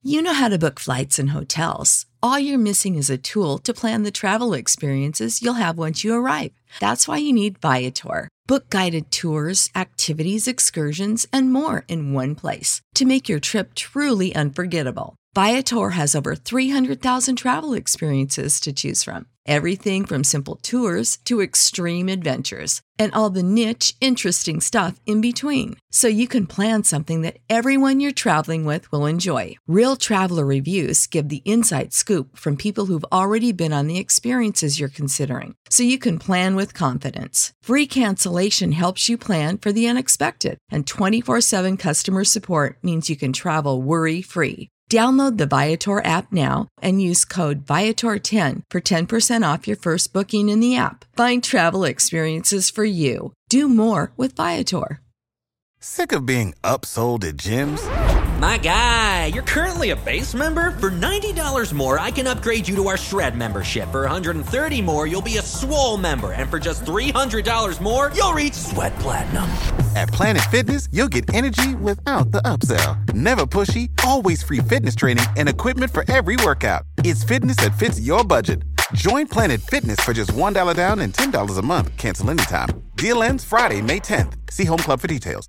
You know how to book flights and hotels. All you're missing is a tool to plan the travel experiences you'll have once you arrive. That's why you need Viator. Book guided tours, activities, excursions, and more in one place to make your trip truly unforgettable. Viator has over 300,000 travel experiences to choose from. Everything from simple tours to extreme adventures and all the niche, interesting stuff in between. So you can plan something that everyone you're traveling with will enjoy. Real traveler reviews give the inside scoop from people who've already been on the experiences you're considering. So you can plan with confidence. Free cancellation helps you plan for the unexpected. And 24/7 customer support means you can travel worry-free. Download the Viator app now and use code Viator10 for 10% off your first booking in the app. Find travel experiences for you. Do more with Viator. Sick of being upsold at gyms? My guy, you're currently a base member? For $90 more, I can upgrade you to our Shred membership. For $130 more, you'll be a Swole member. And for just $300 more, you'll reach Sweat Platinum. At Planet Fitness, you'll get energy without the upsell. Never pushy, always free fitness training and equipment for every workout. It's fitness that fits your budget. Join Planet Fitness for just $1 down and $10 a month. Cancel anytime. Deal ends Friday, May 10th. See Home Club for details.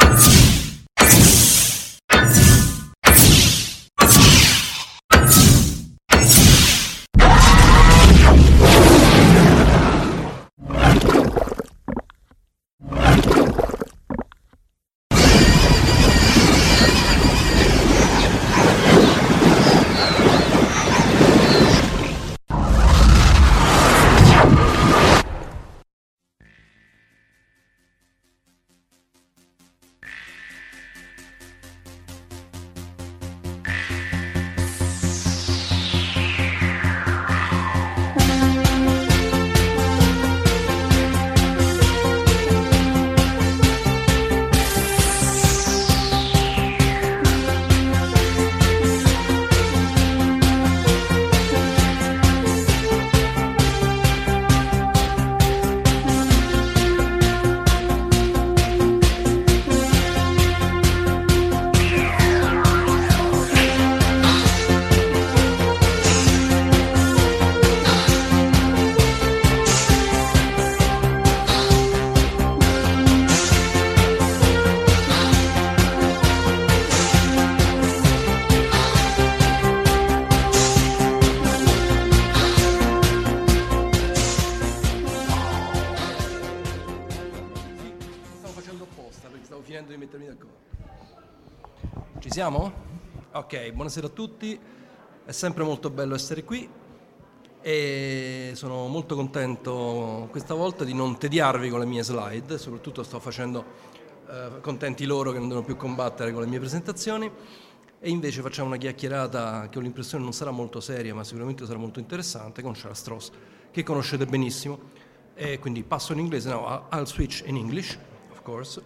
Ci siamo? Ok, buonasera a tutti, è sempre molto bello essere qui e sono molto contento questa volta di non tediarvi con le mie slide, soprattutto sto facendo contenti loro che non devono più combattere con le mie presentazioni e invece facciamo una chiacchierata che ho l'impressione non sarà molto seria ma sicuramente sarà molto interessante con Charles Stross, che conoscete benissimo, e quindi passo in inglese. Now I'll switch in English, of course.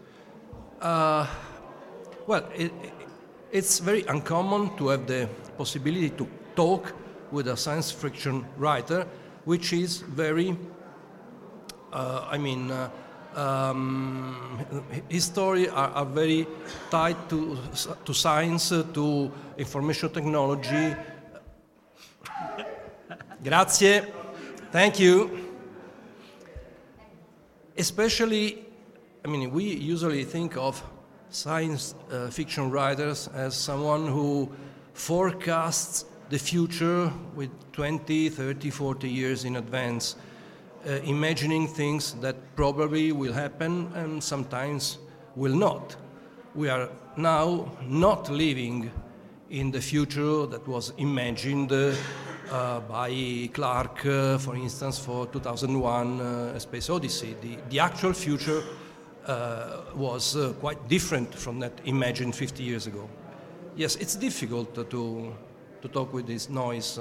It's very uncommon to have the possibility to talk with a science fiction writer, which is very, his stories are very tied to science, to information technology. Grazie, thank you. Especially, we usually think of science fiction writers as someone who forecasts the future with 20, 30, 40 years in advance, imagining things that probably will happen and sometimes will not. We are now not living in the future that was imagined by Clarke, for instance, for 2001 A Space Odyssey. The actual future was quite different from that imagined 50 years ago. Yes, it's difficult to talk with this noise.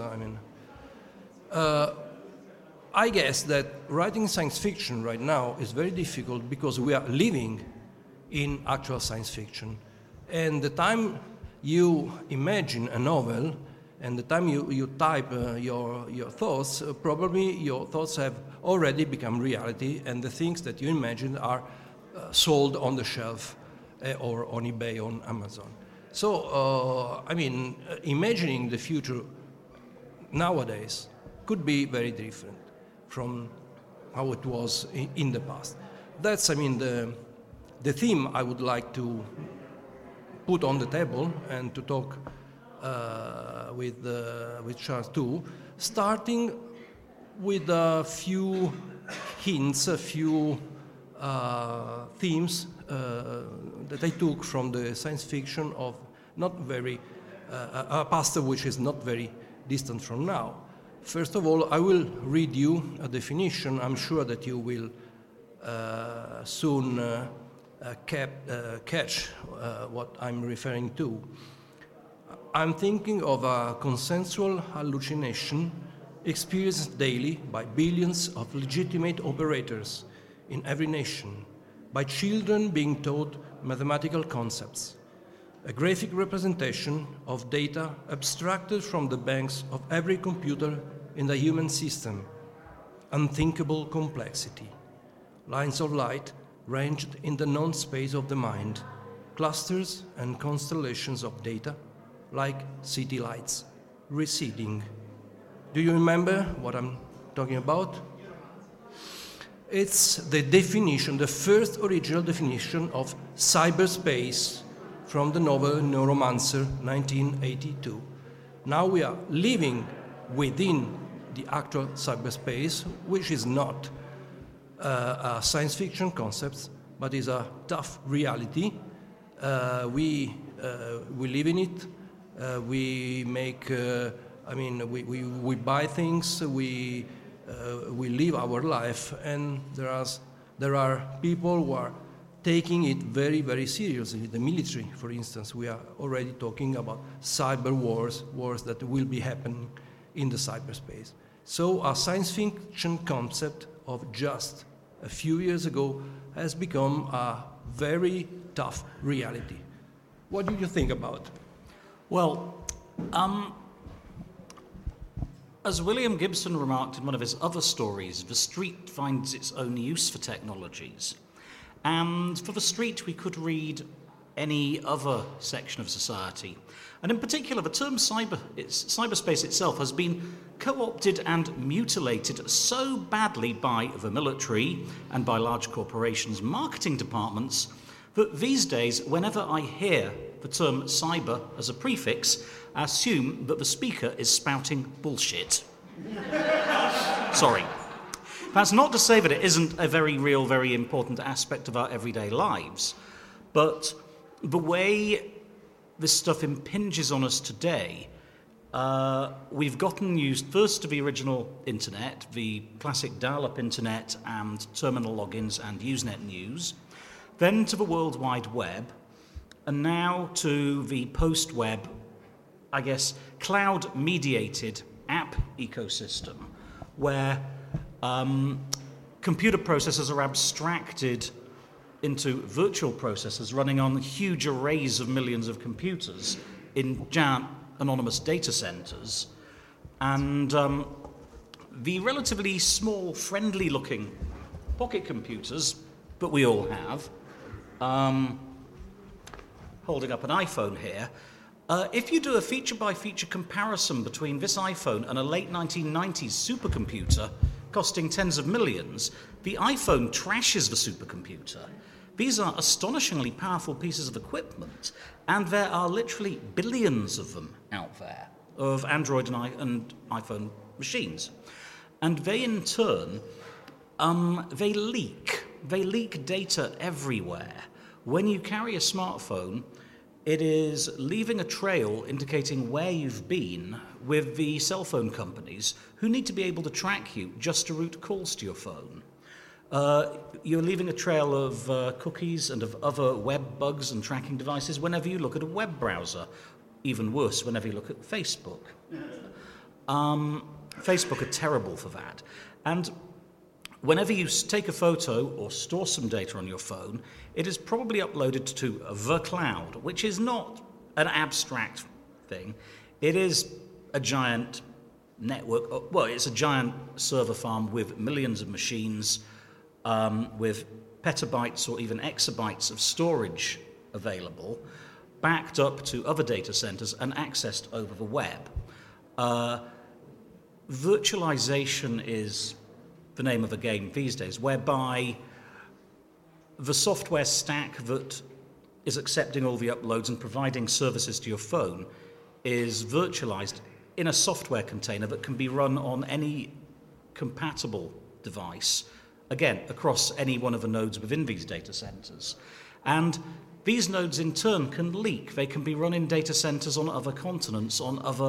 I guess that writing science fiction right now is very difficult because we are living in actual science fiction. And the time you imagine a novel and the time you type your thoughts, probably your thoughts have already become reality and the things that you imagined are sold on the shelf or on eBay, on Amazon. So, imagining the future nowadays could be very different from how it was in the past. That's, the theme I would like to put on the table and to talk with Charles too, starting with a few hints, a few themes that I took from the science fiction of not very a past which is not very distant from now. First of all, I will read you a definition. I'm sure that you will soon catch what I'm referring to. I'm thinking of a consensual hallucination experienced daily by billions of legitimate operators in every nation, by children being taught mathematical concepts, a graphic representation of data abstracted from the banks of every computer in the human system, unthinkable complexity, lines of light ranged in the non-space of the mind, clusters and constellations of data like city lights, receding. Do you remember what I'm talking about? It's the definition, the first original definition of cyberspace from the novel Neuromancer, 1982. Now we are living within the actual cyberspace, which is not a science fiction concept, but is a tough reality. We live in it. We make. We buy things. We live our life, and there are people who are taking it very, very seriously. The military, for instance, we are already talking about cyber wars that will be happening in the cyberspace. So a science fiction concept of just a few years ago has become a very tough reality. What do you think about? Well, as William Gibson remarked in one of his other stories, the street finds its own use for technologies. And for the street, we could read any other section of society. And in particular, the term cyberspace itself has been co-opted and mutilated so badly by the military and by large corporations' marketing departments that these days, whenever I hear the term cyber as a prefix, I assume that the speaker is spouting bullshit. Sorry. That's not to say that it isn't a very real, very important aspect of our everyday lives, but the way this stuff impinges on us today, we've gotten used first to the original internet, the classic dial-up internet and terminal logins and Usenet news, then to the World Wide Web, and now to the post-web, I guess, cloud-mediated app ecosystem, where computer processors are abstracted into virtual processors running on huge arrays of millions of computers in giant anonymous data centers. And the relatively small, friendly-looking pocket computers that we all have, holding up an iPhone here, if you do a feature-by-feature comparison between this iPhone and a late 1990s supercomputer costing tens of millions, the iPhone trashes the supercomputer. These are astonishingly powerful pieces of equipment, and there are literally billions of them out there, of Android and iPhone machines. And they, in turn, they leak. They leak data everywhere. When you carry a smartphone, it is leaving a trail indicating where you've been with the cell phone companies who need to be able to track you just to route calls to your phone. You're leaving a trail of cookies and of other web bugs and tracking devices whenever you look at a web browser. Even worse, whenever you look at Facebook. Facebook are terrible for that. And whenever you take a photo or store some data on your phone, it is probably uploaded to the cloud, which is not an abstract thing. It is a giant network. Well, it's a giant server farm with millions of machines, with petabytes or even exabytes of storage available. backed up to other data centers and accessed over the web. Virtualization is the name of the game these days, whereby the software stack that is accepting all the uploads and providing services to your phone is virtualized in a software container that can be run on any compatible device, again, across any one of the nodes within these data centers. And these nodes in turn can leak. They can be run in data centers on other continents,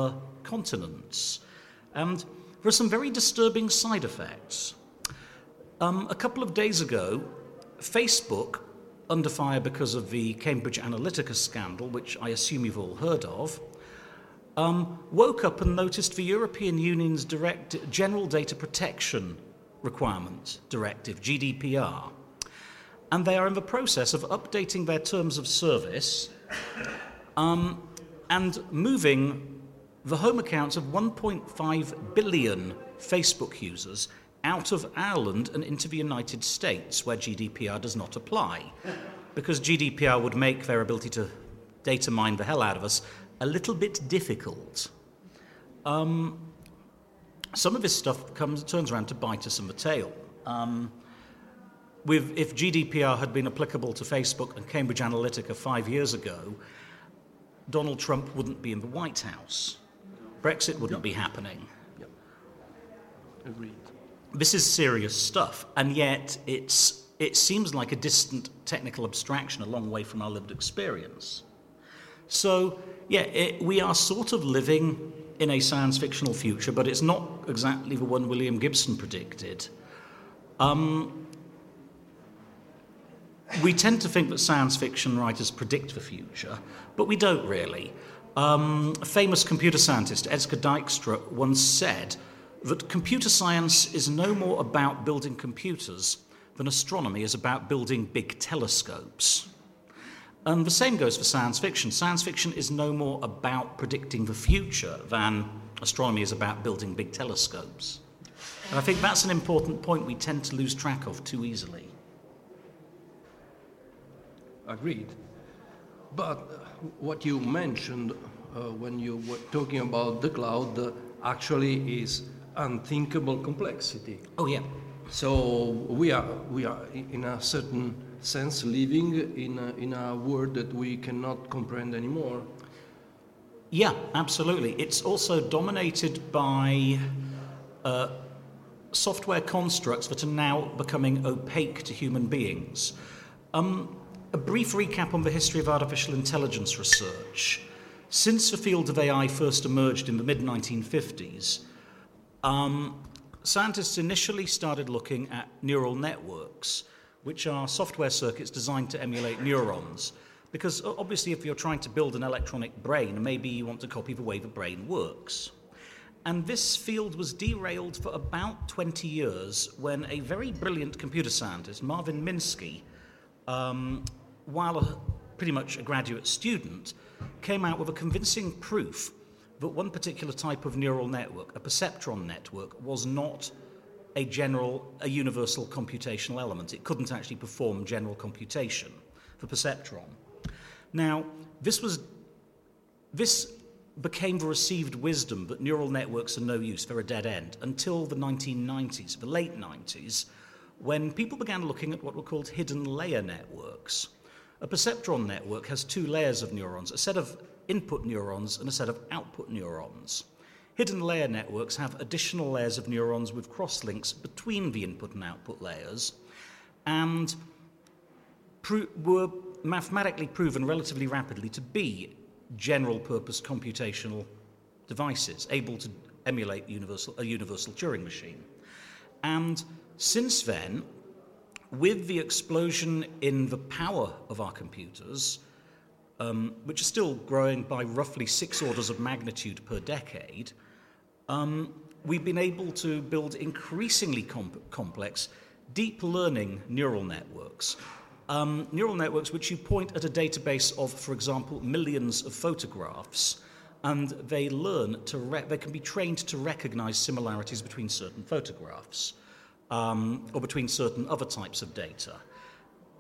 And there are some very disturbing side effects. A couple of days ago, Facebook, under fire because of the Cambridge Analytica scandal, which I assume you've all heard of, woke up and noticed the European Union's General Data Protection Requirement Directive, GDPR. And they are in the process of updating their terms of service and moving the home accounts of 1.5 billion Facebook users out of Ireland and into the United States, where GDPR does not apply, because GDPR would make their ability to data mine the hell out of us a little bit difficult. Some of this stuff turns around to bite us in the tail. If GDPR had been applicable to Facebook and Cambridge Analytica 5 years ago, Donald Trump wouldn't be in the White House. Brexit wouldn't be happening. Yep. Agreed. This is serious stuff, and yet it seems like a distant technical abstraction a long way from our lived experience. So, we are sort of living in a science fictional future, but it's not exactly the one William Gibson predicted. We tend to think that science fiction writers predict the future, but we don't really. A famous computer scientist, Edsger Dijkstra, once said that computer science is no more about building computers than astronomy is about building big telescopes. And the same goes for science fiction. Science fiction is no more about predicting the future than astronomy is about building big telescopes. And I think that's an important point we tend to lose track of too easily. Agreed. But what you mentioned when you were talking about the cloud actually is unthinkable complexity. Oh, yeah. So we are in a certain sense living in a world that we cannot comprehend anymore. Yeah, absolutely. It's also dominated by software constructs that are now becoming opaque to human beings. A brief recap on the history of artificial intelligence research. Since the field of AI first emerged in the mid-1950s, scientists initially started looking at neural networks, which are software circuits designed to emulate neurons. Because obviously if you're trying to build an electronic brain, maybe you want to copy the way the brain works. And this field was derailed for about 20 years when a very brilliant computer scientist, Marvin Minsky, while pretty much a graduate student, came out with a convincing proof that one particular type of neural network, a perceptron network, was not a universal computational element. It couldn't actually perform general computation for perceptron. Now, this became the received wisdom that neural networks are no use, they're a dead end, until the 1990s, the late 90s, when people began looking at what were called hidden layer networks. A perceptron network has two layers of neurons, a set of input neurons and a set of output neurons. Hidden layer networks have additional layers of neurons with crosslinks between the input and output layers, and were mathematically proven relatively rapidly to be general-purpose computational devices, able to emulate a universal Turing machine. And since then, with the explosion in the power of our computers, which are still growing by roughly 6 orders of magnitude per decade, we've been able to build increasingly complex, deep learning neural networks. Neural networks which you point at a database of, for example, millions of photographs, and they can be trained to recognize similarities between certain photographs, or between certain other types of data.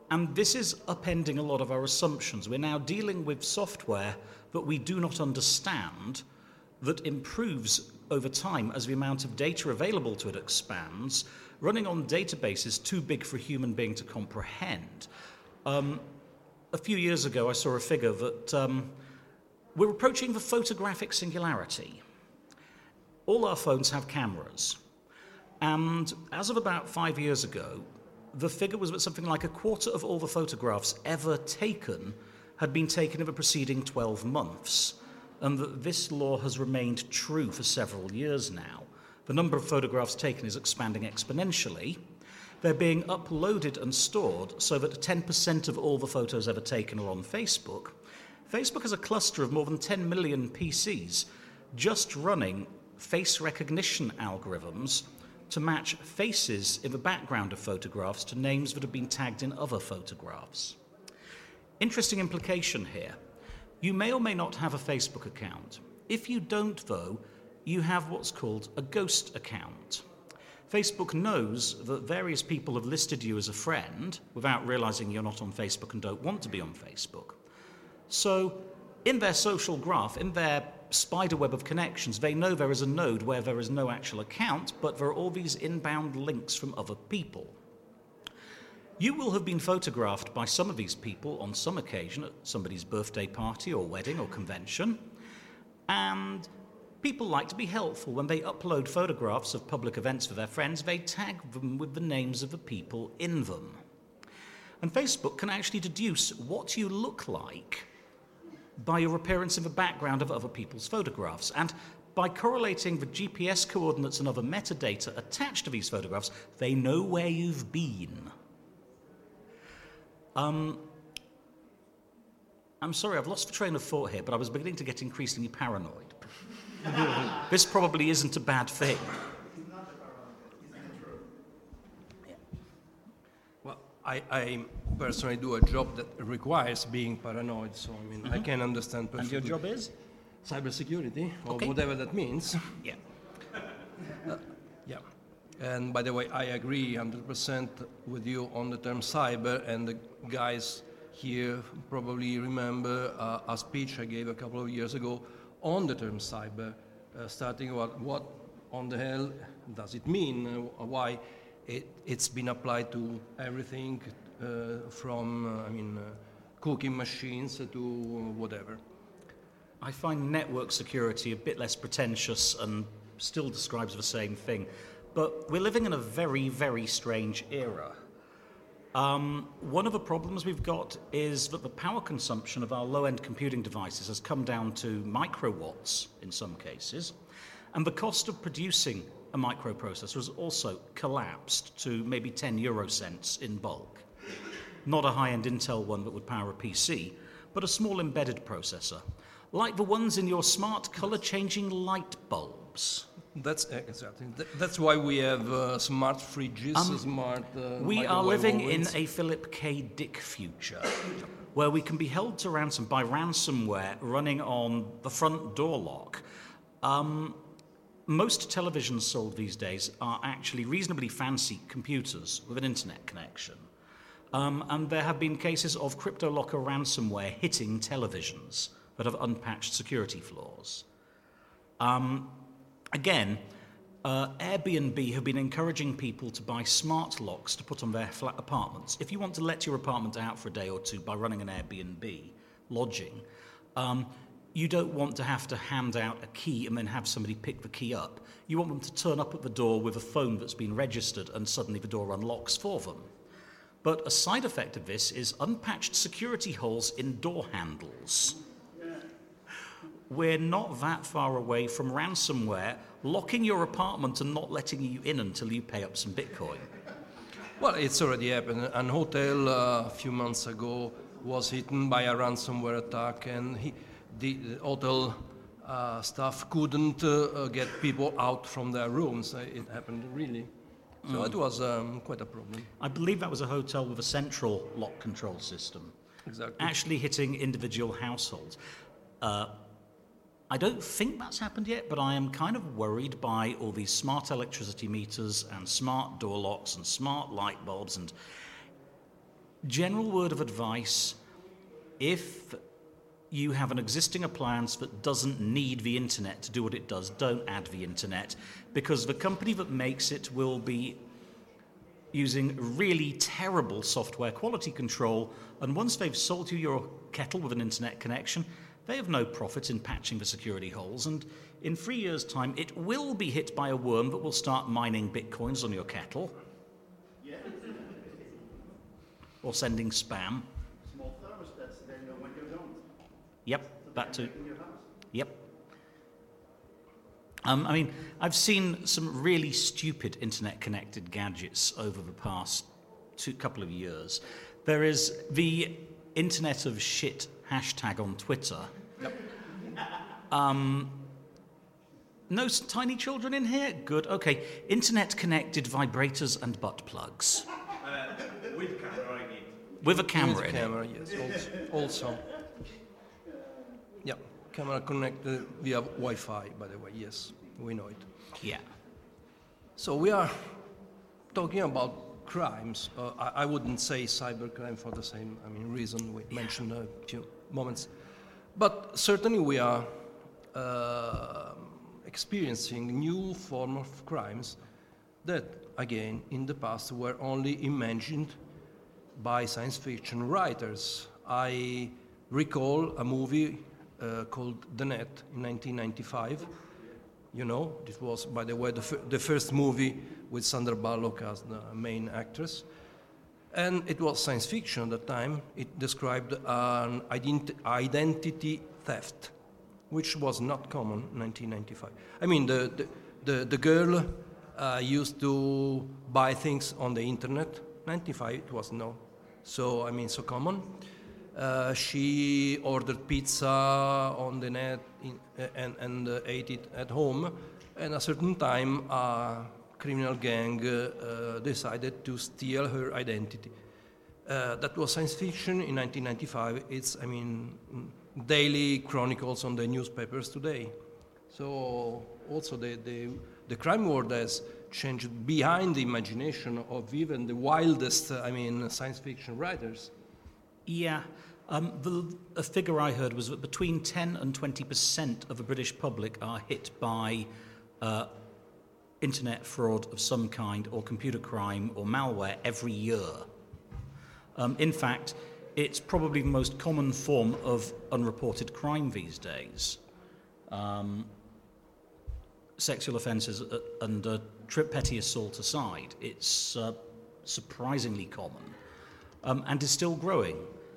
And this is upending a lot of our assumptions. We're now dealing with software that we do not understand, that improves over time as the amount of data available to it expands, running on databases too big for a human being to comprehend. A few years ago, I saw a figure that we're approaching the photographic singularity. All our phones have cameras. And as of about 5 years ago, the figure was that something like a quarter of all the photographs ever taken had been taken in the preceding 12 months, and that this law has remained true for several years now. The number of photographs taken is expanding exponentially. They're being uploaded and stored so that 10% of all the photos ever taken are on Facebook. Facebook has a cluster of more than 10 million PCs just running face recognition algorithms to match faces in the background of photographs to names that have been tagged in other photographs. Interesting implication here. You may or may not have a Facebook account. If you don't, though, you have what's called a ghost account. Facebook knows that various people have listed you as a friend without realizing you're not on Facebook and don't want to be on Facebook. So in their social graph, in their spider web of connections, they know there is a node where there is no actual account, but there are all these inbound links from other people. You will have been photographed by some of these people on some occasion at somebody's birthday party or wedding or convention, and people like to be helpful. When they upload photographs of public events for their friends, they tag them with the names of the people in them. And Facebook can actually deduce what you look like by your appearance in the background of other people's photographs. And by correlating the GPS coordinates and other metadata attached to these photographs, they know where you've been. I'm sorry, I've lost the train of thought here, but I was beginning to get increasingly paranoid. This probably isn't a bad thing. Well, I personally do a job that requires being paranoid, so I mean, I can understand perfectly. And your job is? Cybersecurity, or Okay. whatever that means. Yeah. Yeah. And by the way, I agree 100% with you on the term cyber, and the guys here probably remember a speech I gave a couple of years ago on the term cyber, starting what on the hell does it mean, why it's been applied to everything from cooking machines to whatever. I find network security a bit less pretentious and still describes the same thing. But we're living in a very, very strange era. One of the problems we've got is that the power consumption of our low-end computing devices has come down to microwatts in some cases, and the cost of producing a microprocessor has also collapsed to maybe 10 euro cents in bulk. Not a high-end Intel one that would power a PC, but a small embedded processor, like the ones in your smart color-changing light bulbs. That's exactly. That's why we have smart fridges, smart. We are living in ovens. a Philip K. Dick future, where we can be held to ransom by ransomware running on the front door lock. Most televisions sold these days are actually reasonably fancy computers with an internet connection. And there have been cases of CryptoLocker ransomware hitting televisions that have unpatched security flaws. Again, Airbnb have been encouraging people to buy smart locks to put on their flat apartments. If you want to let your apartment out for a day or two by running an Airbnb lodging, you don't want to have to hand out a key and then have somebody pick the key up. You want them to turn up at the door with a phone that's been registered and suddenly the door unlocks for them. But a side effect of this is unpatched security holes in door handles. We're not that far away from ransomware locking your apartment and not letting you in until you pay up some Bitcoin. Well, it's already happened. An hotel a few months ago was hit by a ransomware attack, and the hotel staff couldn't get people out from their rooms. It happened really. So it was quite a problem. I believe that was a hotel with a central lock control system. Exactly. Actually hitting individual households. I don't think that's happened yet, but I am kind of worried by all these smart electricity meters and smart door locks and smart light bulbs, and general word of advice, if you have an existing appliance that doesn't need the internet to do what it does, don't add the internet, because the company that makes it will be using really terrible software quality control, and once they've sold you your kettle with an internet connection, they have no profit in patching the security holes, and in 3 years' time it will be hit by a worm that will start mining bitcoins on your kettle. Yeah. Or sending spam. Small thermostats, they know when you don't. Yep, that too. Yep. I mean, I've seen some really stupid internet-connected gadgets over the past couple of years. There is the Internet of Shit hashtag on Twitter. Yep. No tiny children in here? Good, okay. Internet-connected vibrators and butt plugs. With camera, I mean. With a camera in it. Camera, yes, also. Yeah, camera connected via Wi-Fi, by the way, yes, we know it. Yeah. So we are talking about crimes. I wouldn't say cybercrime for the same reason we mentioned a few moments. But certainly we are experiencing new form of crimes that, again, in the past were only imagined by science fiction writers. I recall a movie called The Net in 1995. You know, it was, by the way, the first movie with Sandra Bullock as the main actress. And it was science fiction at the time. It described an identity theft, which was not common in 1995. I mean, the girl used to buy things on the internet. 95 it was no, so so common. She ordered pizza on the net and ate it at home. And at a certain time, a criminal gang decided to steal her identity. That was science fiction in 1995. It's, daily chronicles on the newspapers today. So also the crime world has changed behind the imagination of even the wildest, science fiction writers. Yeah. A figure I heard was that between 10 and 20% of the British public are hit by internet fraud of some kind or computer crime or malware every year. In fact, it's probably the most common form of unreported crime these days. Sexual offences and petty assault aside, it's surprisingly common and is still growing.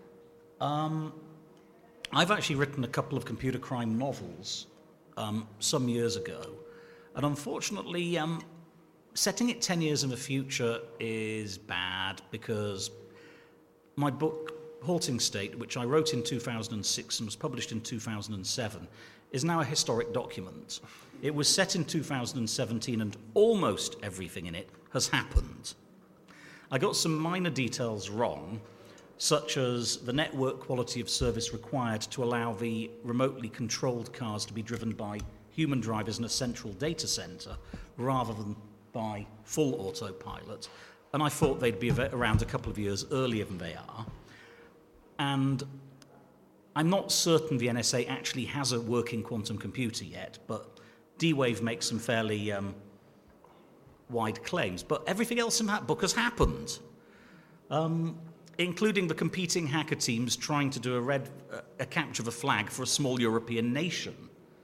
I've actually written a couple of computer crime novels some years ago, and unfortunately, setting it 10 years in the future is bad because my book, Halting State, which I wrote in 2006 and was published in 2007, is now a historic document. It was set in 2017 and almost everything in it has happened. I got some minor details wrong, such as the network quality of service required to allow the remotely controlled cars to be driven by human drivers in a central data center rather than by full autopilot. And I thought they'd be around a couple of years earlier than they are. And I'm not certain the NSA actually has a working quantum computer yet, but D-Wave makes some fairly wide claims. But everything else in that book has happened, including the competing hacker teams trying to do a capture of a flag for a small European nation.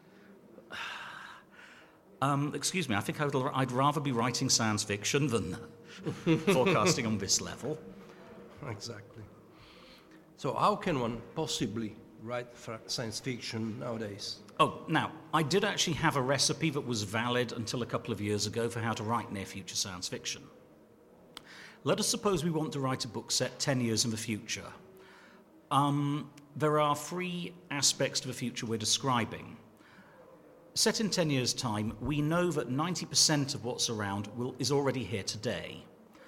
Excuse me, I think I'd rather be writing science fiction than forecasting on this level. Exactly. So how can one possibly write science fiction nowadays? Oh, now, I did actually have a recipe that was valid until a couple of years ago for how to write near-future science fiction. Let us suppose we want to write a book set 10 years in the future. There are 3 aspects to the future we're describing. Set in 10 years' time, we know that 90% of what's around is already here today.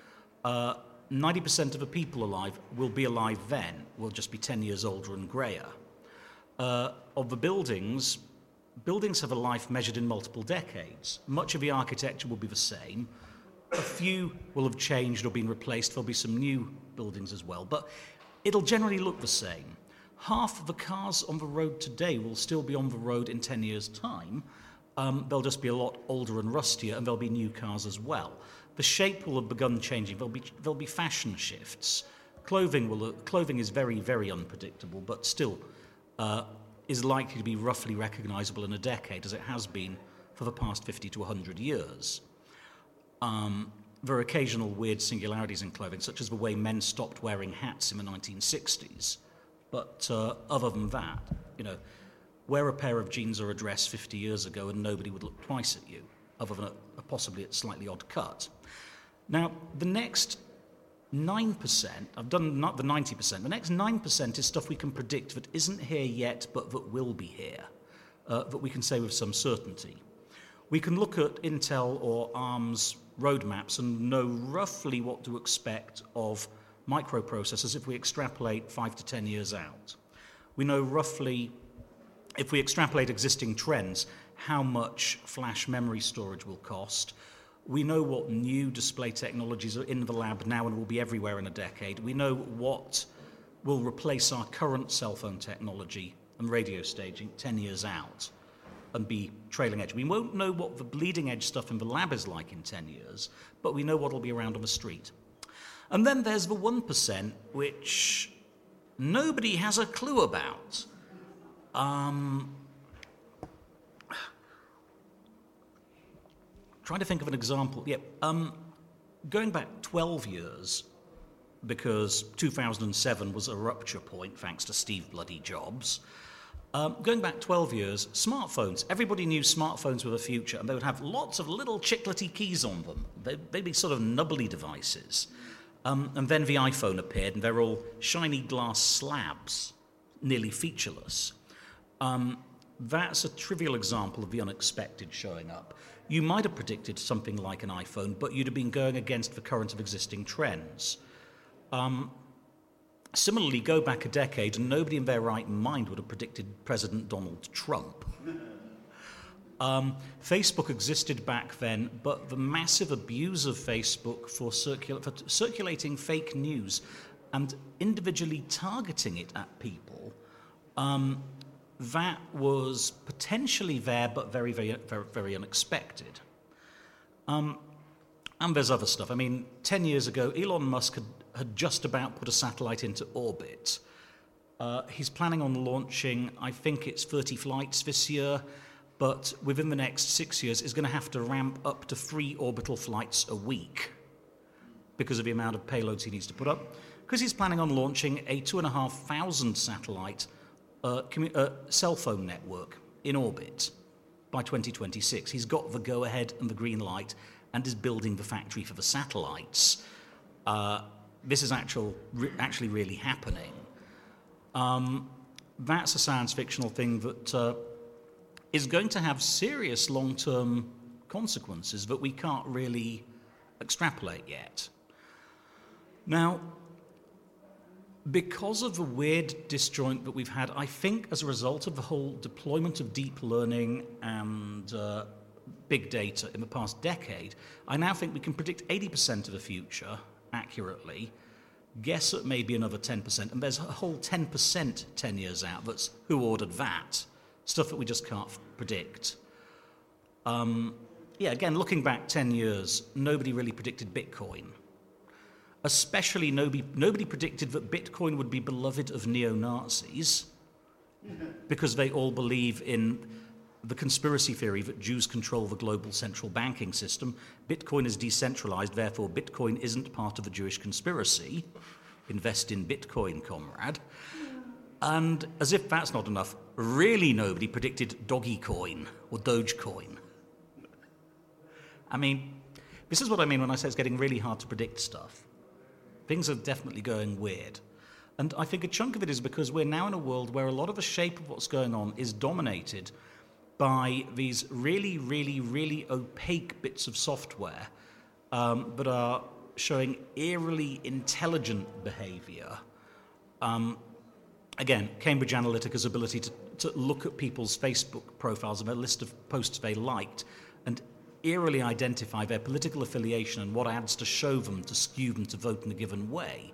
90% of the people alive will be alive then. We'll just be 10 years older and greyer. Of the buildings have a life measured in multiple decades. Much of the architecture will be the same. A few will have changed or been replaced. There'll be some new buildings as well, but it'll generally look the same. Half of the cars on the road today will still be on the road in 10 years' time. They'll just be a lot older and rustier, and there'll be new cars as well. The shape will have begun changing. There'll be fashion shifts. Clothing is very, very unpredictable, but still is likely to be roughly recognizable in a decade, as it has been for the past 50 to 100 years. There are occasional weird singularities in clothing, such as the way men stopped wearing hats in the 1960s. But other than that, wear a pair of jeans or a dress 50 years ago and nobody would look twice at you, other than possibly a slightly odd cut. Now, the next 9%, I've done not the 90%, the next 9% is stuff we can predict that isn't here yet, but that will be here, that we can say with some certainty. We can look at Intel or ARM's roadmaps and know roughly what to expect of microprocessors if we extrapolate 5 to 10 years out. We know roughly, if we extrapolate existing trends, how much flash memory storage will cost. We know what new display technologies are in the lab now and will be everywhere in a decade. We know what will replace our current cell phone technology and radio staging 10 years out and be trailing edge. We won't know what the bleeding edge stuff in the lab is like in 10 years, but we know what will be around on the street. And then there's the 1%, which nobody has a clue about. Trying to think of an example. Going back 12 years, because 2007 was a rupture point, thanks to Steve bloody Jobs. Going back 12 years, smartphones. Everybody knew smartphones were the future, and they would have lots of little chiclety keys on them. They'd be sort of nubbly devices. And then the iPhone appeared, and they're all shiny glass slabs, nearly featureless. That's a trivial example of the unexpected showing up. You might have predicted something like an iPhone, but you'd have been going against the current of existing trends. Similarly, go back a decade, and nobody in their right mind would have predicted President Donald Trump. Facebook existed back then, but the massive abuse of Facebook for circulating fake news and individually targeting it at people, that was potentially there, but very, very, very, very unexpected. And there's other stuff. I mean, 10 years ago, Elon Musk had just about put a satellite into orbit. He's planning on launching, I think it's 30 flights this year, but within the next 6 years is going to have to ramp up to 3 orbital flights a week because of the amount of payloads he needs to put up, because he's planning on launching a 2,500 satellite cell phone network in orbit by 2026. He's got the go-ahead and the green light and is building the factory for the satellites. This is actually really happening. That's a science fictional thing that is going to have serious long-term consequences that we can't really extrapolate yet. Now, because of the weird disjoint that we've had, I think as a result of the whole deployment of deep learning and big data in the past decade, I now think we can predict 80% of the future accurately, guess at maybe another 10%, and there's a whole 10% 10 years out that's who ordered that, stuff that we just can't predict. Again, looking back 10 years, nobody really predicted Bitcoin. Especially nobody predicted that Bitcoin would be beloved of neo-Nazis because they all believe in the conspiracy theory that Jews control the global central banking system. Bitcoin is decentralized, therefore Bitcoin isn't part of the Jewish conspiracy. Invest in Bitcoin, comrade. And as if that's not enough, really nobody predicted Dogecoin or Dogecoin. I mean, this is what I mean when I say it's getting really hard to predict stuff. Things are definitely going weird. And I think a chunk of it is because we're now in a world where a lot of the shape of what's going on is dominated by these really, really, really opaque bits of software that are showing eerily intelligent behavior. Again, Cambridge Analytica's ability to look at people's Facebook profiles and a list of posts they liked and eerily identify their political affiliation and what ads to show them to skew them to vote in a given way,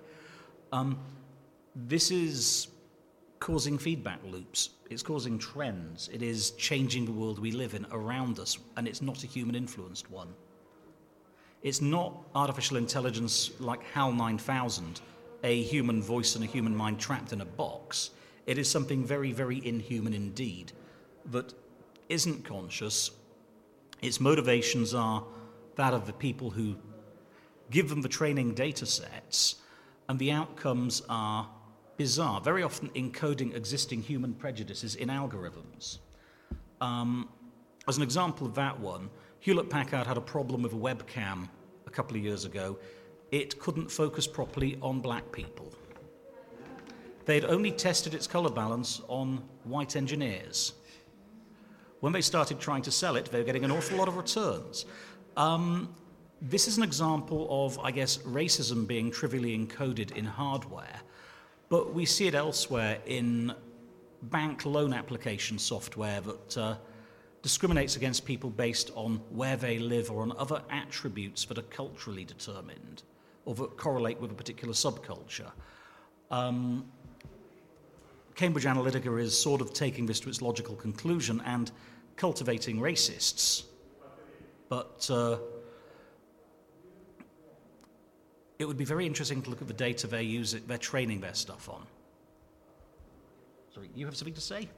this is causing feedback loops. It's causing trends. It is changing the world we live in around us, and it's not a human-influenced one. It's not artificial intelligence like HAL 9000, a human voice and a human mind trapped in a box. It is something very, very inhuman indeed that isn't conscious. Its motivations are that of the people who give them the training data sets, and the outcomes are bizarre, very often encoding existing human prejudices in algorithms. As an example of that one, Hewlett-Packard had a problem with a webcam a couple of years ago. It couldn't focus properly on black people. They'd only tested its color balance on white engineers. When they started trying to sell it, they were getting an awful lot of returns. This is an example of, I guess, racism being trivially encoded in hardware, but we see it elsewhere in bank loan application software that discriminates against people based on where they live or on other attributes that are culturally determined or that correlate with a particular subculture. Cambridge Analytica is sort of taking this to its logical conclusion and cultivating racists. But it would be very interesting to look at the data they're training their stuff on. Sorry, you have something to say?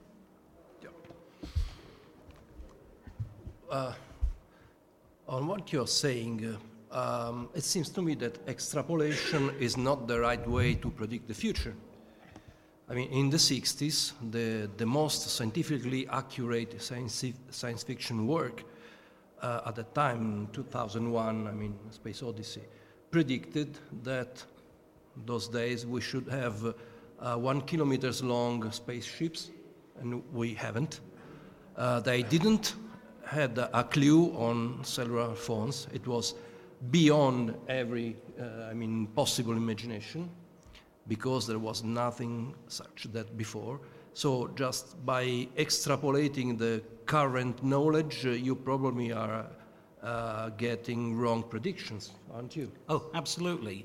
On what you're saying, it seems to me that extrapolation is not the right way to predict the future. I mean, in the 60s, the most scientifically accurate science fiction work at the time, 2001, I mean, Space Odyssey, predicted that those days we should have 1 kilometer long spaceships, and we haven't. They didn't had a clue on cellular phones. It was beyond every, possible imagination, because there was nothing such that before. So just by extrapolating the current knowledge, you probably are getting wrong predictions, aren't you? Oh, absolutely.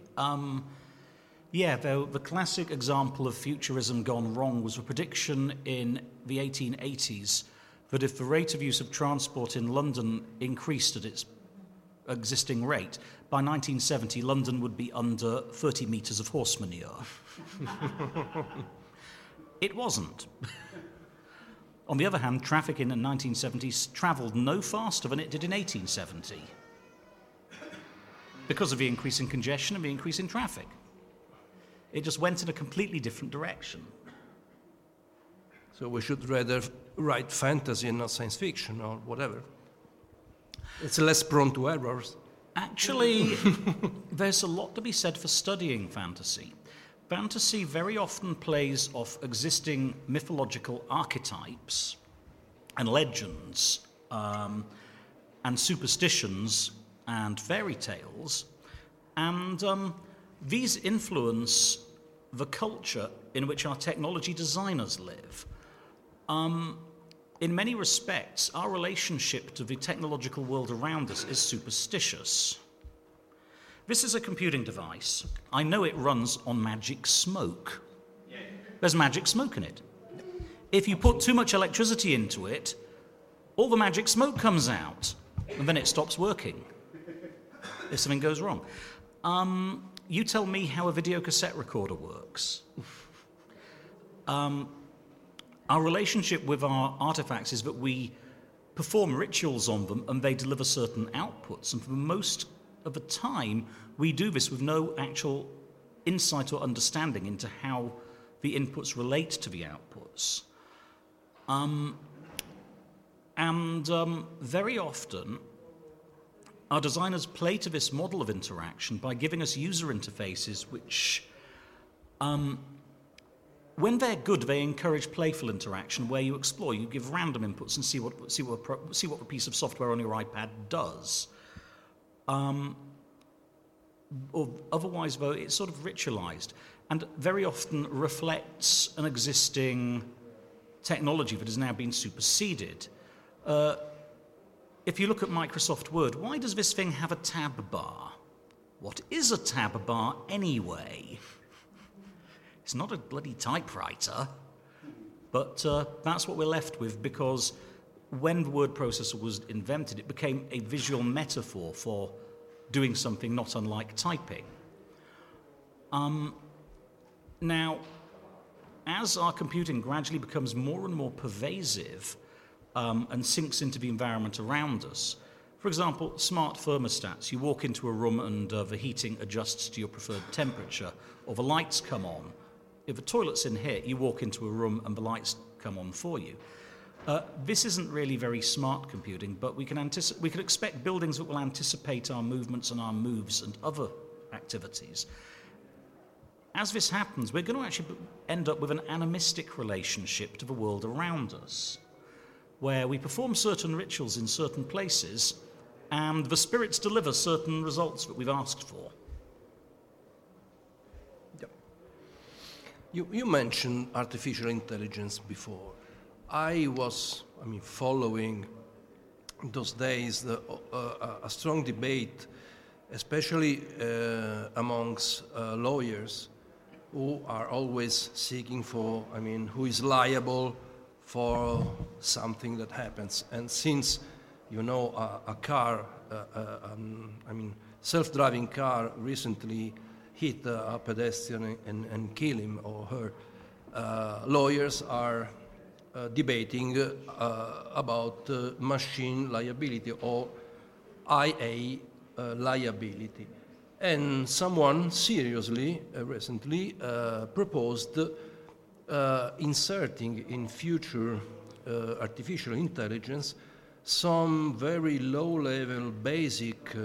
The classic example of futurism gone wrong was a prediction in the 1880s that if the rate of use of transport in London increased at its existing rate, by 1970 London would be under 30 metres of horse manure. It wasn't. On the other hand, traffic in the 1970s travelled no faster than it did in 1870 because of the increase in congestion and the increase in traffic. It just went in a completely different direction. So we should rather write fantasy and not science fiction or whatever. It's less prone to errors. Actually, there's a lot to be said for studying fantasy. Fantasy very often plays off existing mythological archetypes and legends and superstitions and fairy tales, and these influence the culture in which our technology designers live. In many respects, our relationship to the technological world around us is superstitious. This is a computing device. I know it runs on magic smoke. There's magic smoke in it. If you put too much electricity into it, all the magic smoke comes out, and then it stops working if something goes wrong. You tell me how a video cassette recorder works. Our relationship with our artifacts is that we perform rituals on them and they deliver certain outputs. And for most of the time, we do this with no actual insight or understanding into how the inputs relate to the outputs. Very often, our designers play to this model of interaction by giving us user interfaces which, when they're good, they encourage playful interaction where you explore, you give random inputs and see what a piece of software on your iPad does. Or otherwise, though, it's sort of ritualized and very often reflects an existing technology that has now been superseded. if you look at Microsoft Word, why does this thing have a tab bar? What is a tab bar anyway? It's not a bloody typewriter, but that's what we're left with, because when the word processor was invented, it became a visual metaphor for doing something not unlike typing. Now, as our computing gradually becomes more and more pervasive and sinks into the environment around us, for example, smart thermostats, you walk into a room and the heating adjusts to your preferred temperature, or the lights come on. If the toilet's in here, you walk into a room and the lights come on for you. This isn't really very smart computing, but we can expect buildings that will anticipate our movements and our moves and other activities. As this happens, we're going to actually end up with an animistic relationship to the world around us, where we perform certain rituals in certain places, and the spirits deliver certain results that we've asked for. You mentioned artificial intelligence before. I was, following those days a strong debate, especially amongst lawyers who are always seeking for, who is liable for something that happens. And since, a car, self-driving car recently hit a pedestrian and kill him or her, lawyers are debating about machine liability or IA liability. And someone seriously, recently, proposed inserting in future artificial intelligence some very low-level basic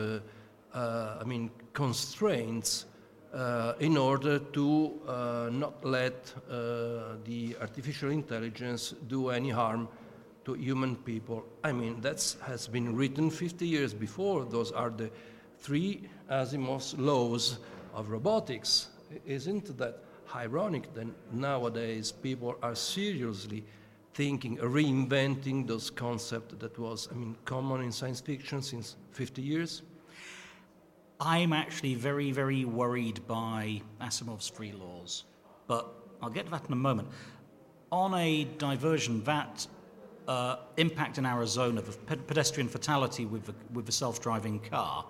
constraints in order to not let the artificial intelligence do any harm to human people. That has been written 50 years before. Those are the 3 Asimov's laws of robotics. Isn't that ironic that nowadays people are seriously thinking, reinventing those concepts that was, common in science fiction since 50 years? I'm actually very, very worried by Asimov's 3 laws, but I'll get to that in a moment. On a diversion, that impact in Arizona, the pedestrian fatality with the self-driving car,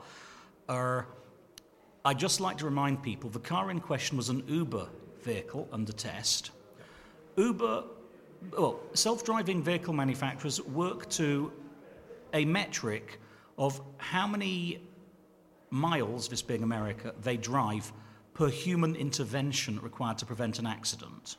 I'd just like to remind people the car in question was an Uber vehicle under test. Self-driving vehicle manufacturers work to a metric of how many miles, this being America, they drive per human intervention required to prevent an accident.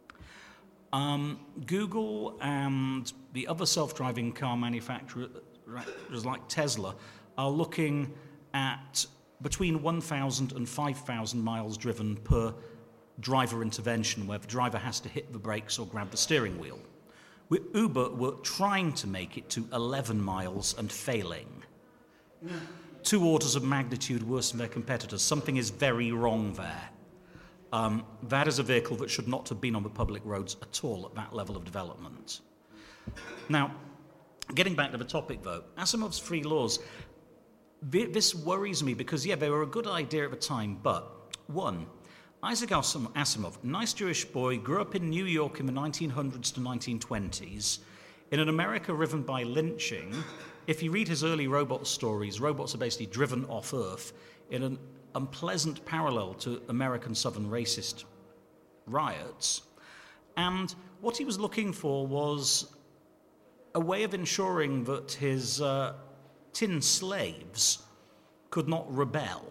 Google and the other self-driving car manufacturers like Tesla are looking at between 1,000 and 5,000 miles driven per driver intervention, where the driver has to hit the brakes or grab the steering wheel. With Uber, we're trying to make it to 11 miles and failing. 2 orders of magnitude worse than their competitors. Something is very wrong there. That is a vehicle that should not have been on the public roads at all at that level of development. Now, getting back to the topic though, Asimov's 3 laws, this worries me because, they were a good idea at the time, but 1, Isaac Asimov, nice Jewish boy, grew up in New York in the 1900s to 1920s, in an America riven by lynching. If you read his early robot stories, robots are basically driven off Earth in an unpleasant parallel to American Southern racist riots. And what he was looking for was a way of ensuring that his tin slaves could not rebel.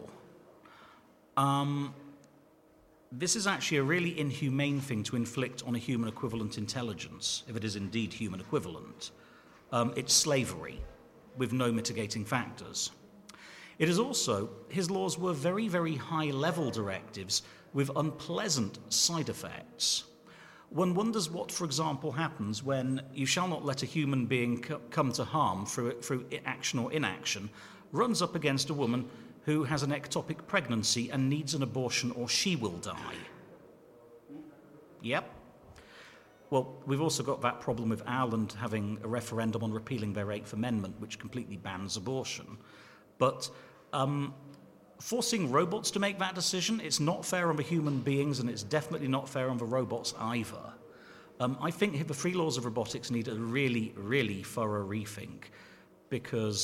This is actually a really inhumane thing to inflict on a human equivalent intelligence, if it is indeed human equivalent. It's slavery with no mitigating factors. It is also, his laws were very, very high-level directives with unpleasant side effects. One wonders what, for example, happens when you shall not let a human being come to harm through action or inaction, runs up against a woman who has an ectopic pregnancy and needs an abortion or she will die. Yep. Well, we've also got that problem with Ireland having a referendum on repealing their 8th Amendment, which completely bans abortion. But forcing robots to make that decision, it's not fair on the human beings, and it's definitely not fair on the robots either. I think the three laws of robotics need a really, really thorough rethink, because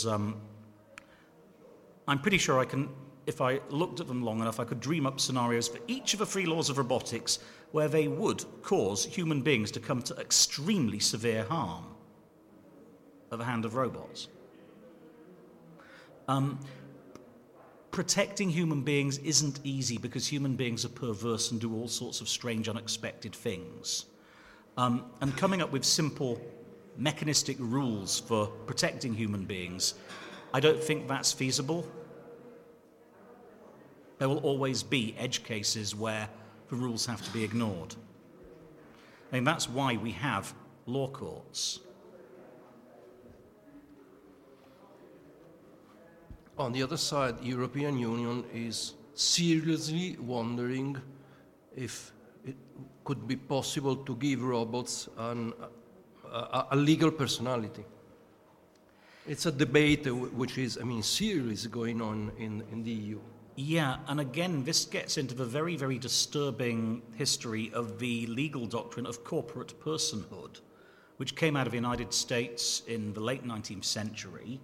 I'm pretty sure I can, if I looked at them long enough, I could dream up scenarios for each of the three laws of robotics where they would cause human beings to come to extremely severe harm at the hand of robots. Protecting human beings isn't easy because human beings are perverse and do all sorts of strange, unexpected things. And coming up with simple, mechanistic rules for protecting human beings, I don't think that's feasible. There will always be edge cases where the rules have to be ignored. And that's why we have law courts. On the other side, the European Union is seriously wondering if it could be possible to give robots a legal personality. It's a debate which is, serious going on in the EU. Yeah, and again, this gets into the very, very disturbing history of the legal doctrine of corporate personhood, which came out of the United States in the late 19th century.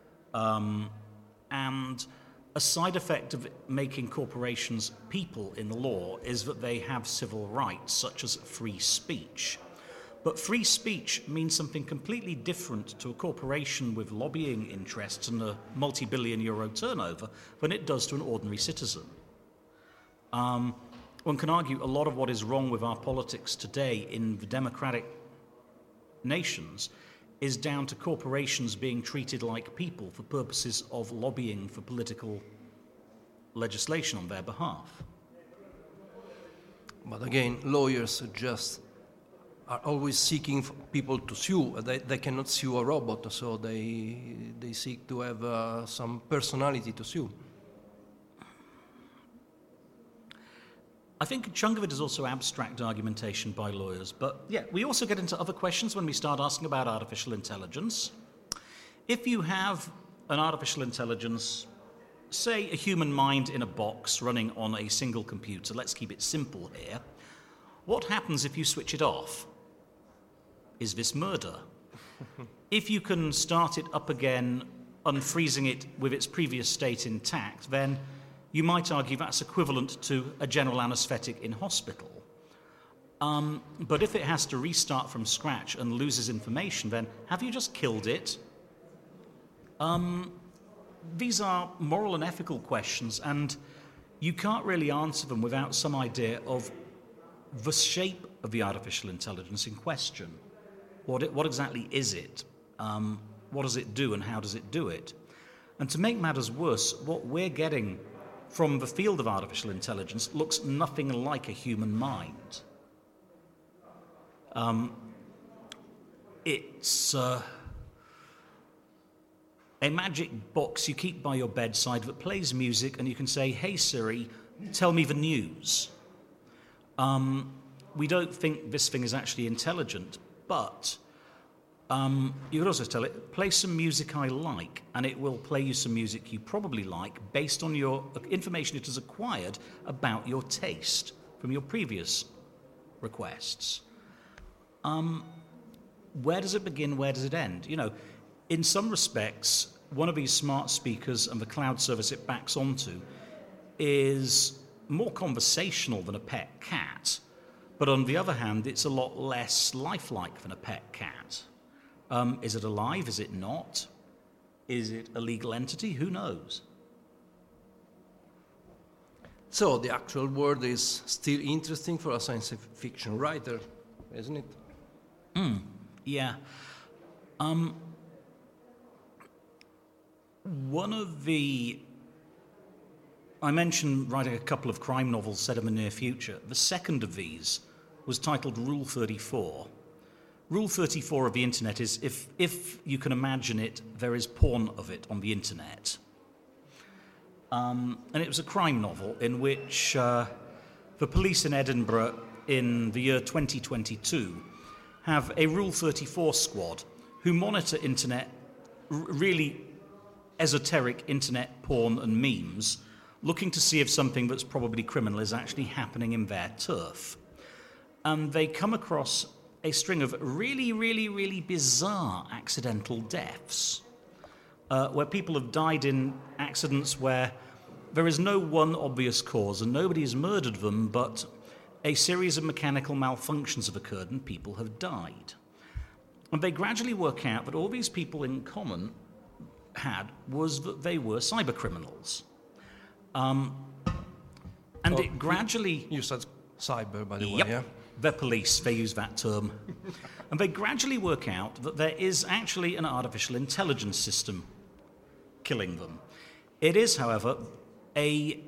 And a side effect of making corporations people in the law is that they have civil rights, such as free speech. But free speech means something completely different to a corporation with lobbying interests and a multi-billion euro turnover than it does to an ordinary citizen. One can argue a lot of what is wrong with our politics today in the democratic nations is down to corporations being treated like people for purposes of lobbying for political legislation on their behalf. But again, lawyers are always seeking for people to sue. They cannot sue a robot, so they seek to have some personality to sue. I think a chunk of it is also abstract argumentation by lawyers, but yeah, we also get into other questions when we start asking about artificial intelligence. If you have an artificial intelligence, say a human mind in a box running on a single computer, let's keep it simple here, what happens if you switch it off? Is this murder? If you can start it up again, unfreezing it with its previous state intact, then you might argue that's equivalent to a general anesthetic in hospital. But if it has to restart from scratch and loses information, then have you just killed it? These are moral and ethical questions, and you can't really answer them without some idea of the shape of the artificial intelligence in question. What exactly is it? What does it do, and how does it do it? And to make matters worse, what we're getting from the field of artificial intelligence looks nothing like a human mind. It's a magic box you keep by your bedside that plays music, and you can say, "Hey Siri, tell me the news." We don't think this thing is actually intelligent, but you could also tell it, play some music I like, and it will play you some music you probably like based on your information it has acquired about your taste from your previous requests. Where does it begin? Where does it end? You know, in some respects, one of these smart speakers and the cloud service it backs onto is more conversational than a pet cat. But on the other hand, it's a lot less lifelike than a pet cat. Is it alive? Is it not? Is it a legal entity? Who knows? So the actual world is still interesting for a science fiction writer, isn't it? Yeah. One of the... I mentioned writing a couple of crime novels set in the near future. The second of these was titled Rule 34. Rule 34 of the internet is, if you can imagine it, there is porn of it on the internet. And it was a crime novel in which the police in Edinburgh in the year 2022 have a Rule 34 squad who monitor internet, really esoteric internet porn and memes, looking to see if something that's probably criminal is actually happening in their turf. And they come across a string of really, really, really bizarre accidental deaths, where people have died in accidents where there is no one obvious cause and nobody has murdered them, but a series of mechanical malfunctions have occurred and people have died. And they gradually work out that all these people in common had was that they were cyber criminals. It gradually... You said cyber, by the way, Yep. yeah? The police, they use that term. And they gradually work out that there is actually an artificial intelligence system killing them. It is, however, a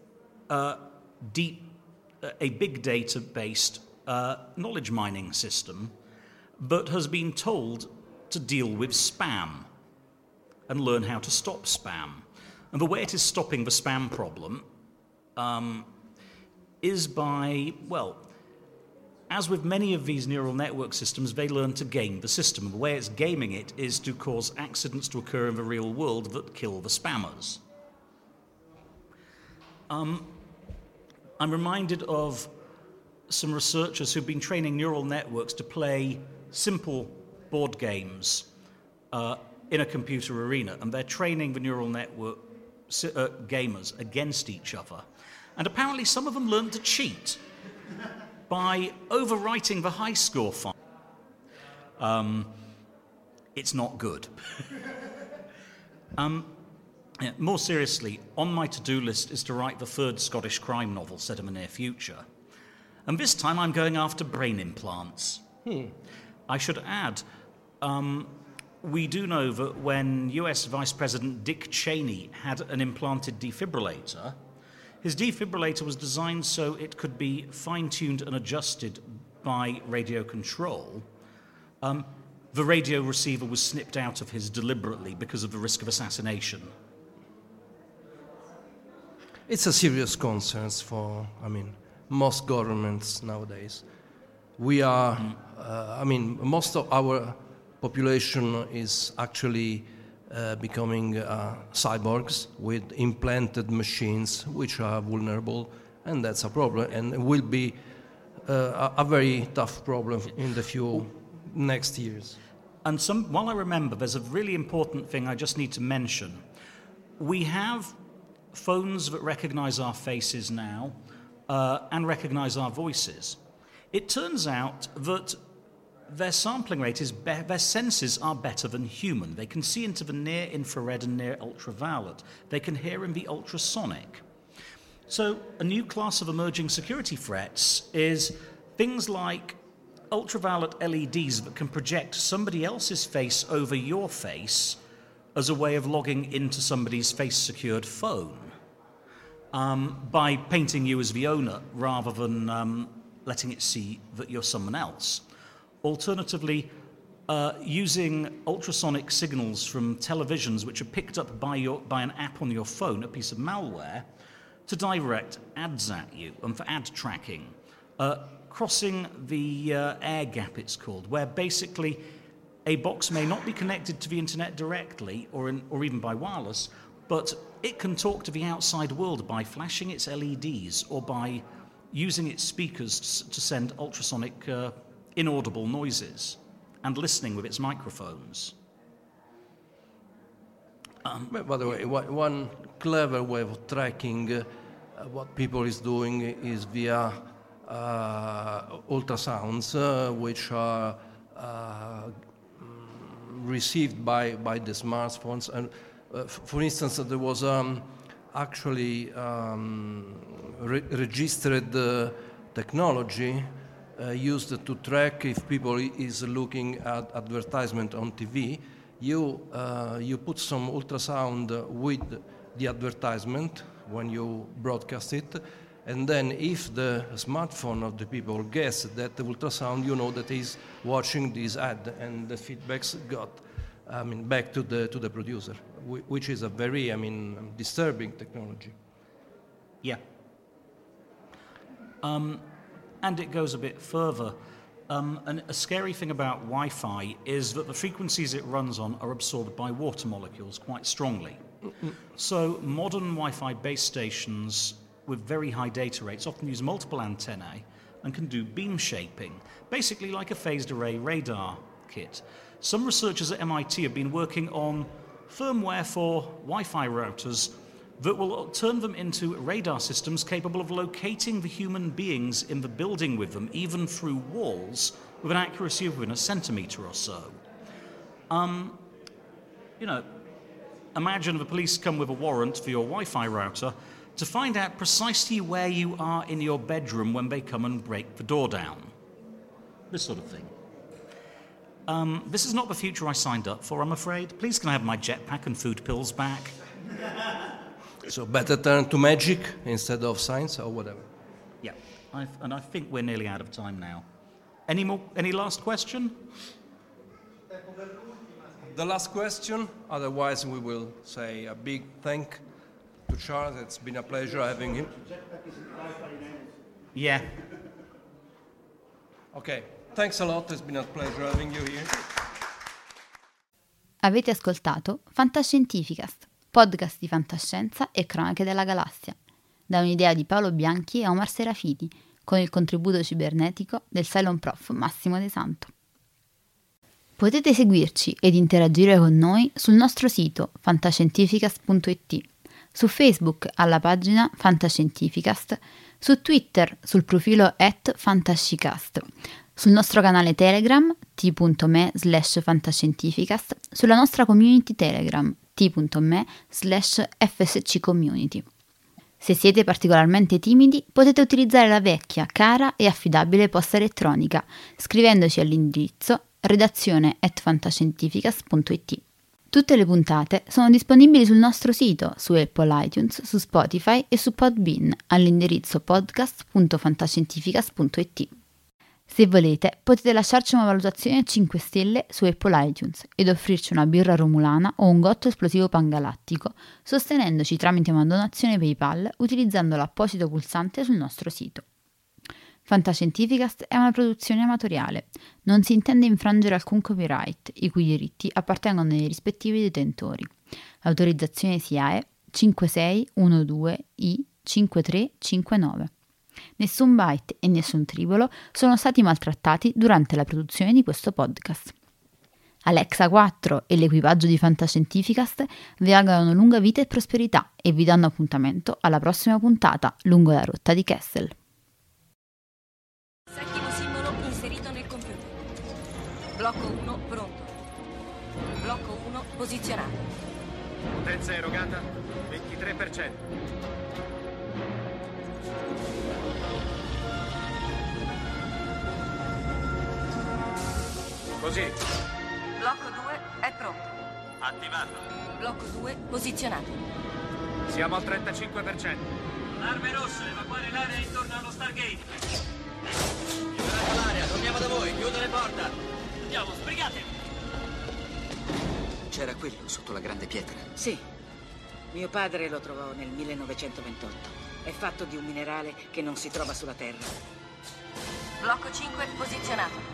big data-based knowledge mining system that has been told to deal with spam and learn how to stop spam. And the way it is stopping the spam problem is by, well, as with many of these neural network systems, they learn to game the system. And the way it's gaming it is to cause accidents to occur in the real world that kill the spammers. I'm reminded of some researchers who've been training neural networks to play simple board games in a computer arena, and they're training the neural network gamers against each other. And apparently some of them learned to cheat by overwriting the high score file. It's not good. More seriously, on my to-do list is to write the third Scottish crime novel set in the near future. And this time I'm going after brain implants. I should add, we do know that when US Vice President Dick Cheney had an implanted defibrillator, his defibrillator was designed so it could be fine-tuned and adjusted by radio control. The radio receiver was snipped out of his deliberately because of the risk of assassination. It's a serious concern for, most governments nowadays. We are, most of our population is actually becoming cyborgs with implanted machines which are vulnerable, and that's a problem, and it will be a very tough problem in the few next years. And while I remember, there's a really important thing I just need to mention. We have phones that recognize our faces now and recognize our voices. It turns out that their sampling rate is their senses are better than human. They can see into the near infrared and near ultraviolet. They can hear in the ultrasonic. So a new class of emerging security threats is things like ultraviolet LEDs that can project somebody else's face over your face as a way of logging into somebody's face-secured phone by painting you as the owner rather than letting it see that you're someone else. Alternatively, using ultrasonic signals from televisions which are picked up by an app on your phone, a piece of malware, to direct ads at you and for ad tracking. Crossing the air gap, it's called, where basically a box may not be connected to the internet directly or even by wireless, but it can talk to the outside world by flashing its LEDs or by using its speakers to send ultrasonic inaudible noises and listening with its microphones. By the way, one clever way of tracking what people is doing is via ultrasounds, which are received by the smartphones. And for instance, there was actually registered technology used to track if people is looking at advertisement on TV. You put some ultrasound with the advertisement when you broadcast it, and then if the smartphone of the people guess that the ultrasound, you know that he's watching this ad, and the feedbacks got back to the producer, which is a very disturbing technology. Yeah. And it goes a bit further. And a scary thing about Wi-Fi is that the frequencies it runs on are absorbed by water molecules quite strongly. So modern Wi-Fi base stations with very high data rates often use multiple antennae and can do beam shaping, basically like a phased array radar kit. Some researchers at MIT have been working on firmware for Wi-Fi routers that will turn them into radar systems capable of locating the human beings in the building with them, even through walls, with an accuracy of within a centimetre or so. Imagine the police come with a warrant for your Wi-Fi router to find out precisely where you are in your bedroom when they come and break the door down. This sort of thing. This is not the future I signed up for, I'm afraid. Please can I have my jetpack and food pills back? So better turn to magic instead of science or whatever. Yeah, I think we're nearly out of time now. Any last question? The last question, otherwise we will say a big thank to Charles. It's been a pleasure having him. Yeah. Okay, thanks a lot, it's been a pleasure having you here. Avete ascoltato Fantascientificast, podcast di fantascienza e cronache della galassia, da un'idea di Paolo Bianchi e Omar Serafiti, con il contributo cibernetico del Cylon Prof Massimo De Santo. Potete seguirci ed interagire con noi sul nostro sito fantascientificast.it, su Facebook alla pagina Fantascientificast, su Twitter sul profilo @fantascicast, sul nostro canale Telegram t.me/fantascientificast, sulla nostra community Telegram t.me/fsccommunity. Se siete particolarmente timidi, potete utilizzare la vecchia, cara e affidabile posta elettronica, scrivendoci all'indirizzo redazione@fantascientificast.it. Tutte le puntate sono disponibili sul nostro sito, su Apple iTunes, su Spotify e su Podbean, all'indirizzo podcast.fantascientificast.it. Se volete, potete lasciarci una valutazione a 5 stelle su Apple iTunes ed offrirci una birra romulana o un gotto esplosivo pangalattico, sostenendoci tramite una donazione PayPal utilizzando l'apposito pulsante sul nostro sito. Fantascientificast è una produzione amatoriale. Non si intende infrangere alcun copyright, i cui diritti appartengono ai rispettivi detentori. L'autorizzazione SIAE 5612I5359. Nessun byte e nessun tribolo sono stati maltrattati durante la produzione di questo podcast. Alexa 4 e l'equipaggio di Fantascientificast vi augurano lunga vita e prosperità e vi danno appuntamento alla prossima puntata lungo la rotta di Kessel. Settimo simbolo inserito nel computer. Blocco 1 pronto. Blocco 1 posizionato. Potenza erogata 23%. Così. Blocco 2 è pronto. Attivato. Blocco 2 posizionato. Siamo al 35%. Arme rosse, evacuare l'area intorno allo Stargate. Liberate l'area, torniamo da voi, chiudo le porte. Andiamo, sbrigate. C'era quello sotto la grande pietra. Sì. Mio padre lo trovò nel 1928. È fatto di un minerale che non si trova sulla Terra. Blocco 5 posizionato.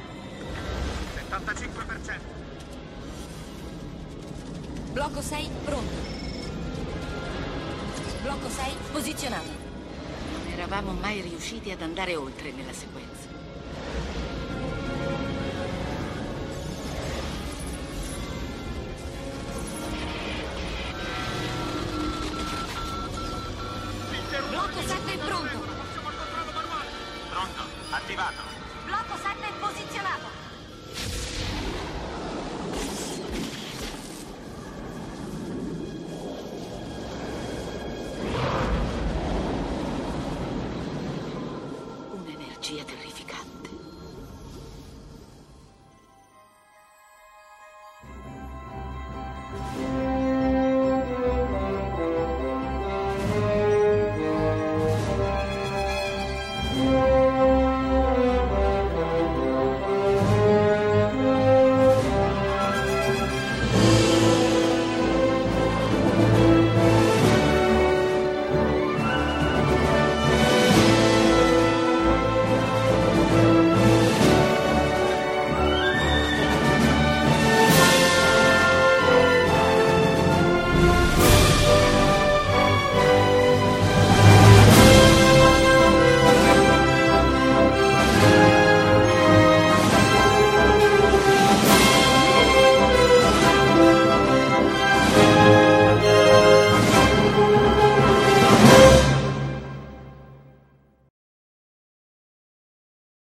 75%. Blocco 6 pronto. Blocco 6 posizionato. Non eravamo mai riusciti ad andare oltre nella sequenza. Blocco 7 pronto. Pronto, attivato. Blocco 7 posizionato. Un'energia terrificante.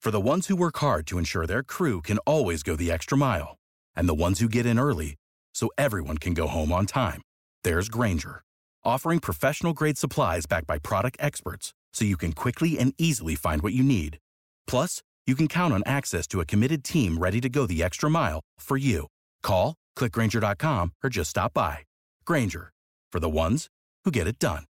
For the ones who work hard to ensure their crew can always go the extra mile, and the ones who get in early so everyone can go home on time, there's Grainger, offering professional-grade supplies backed by product experts so you can quickly and easily find what you need. Plus, you can count on access to a committed team ready to go the extra mile for you. Call, click Grainger.com, or just stop by. Grainger, for the ones who get it done.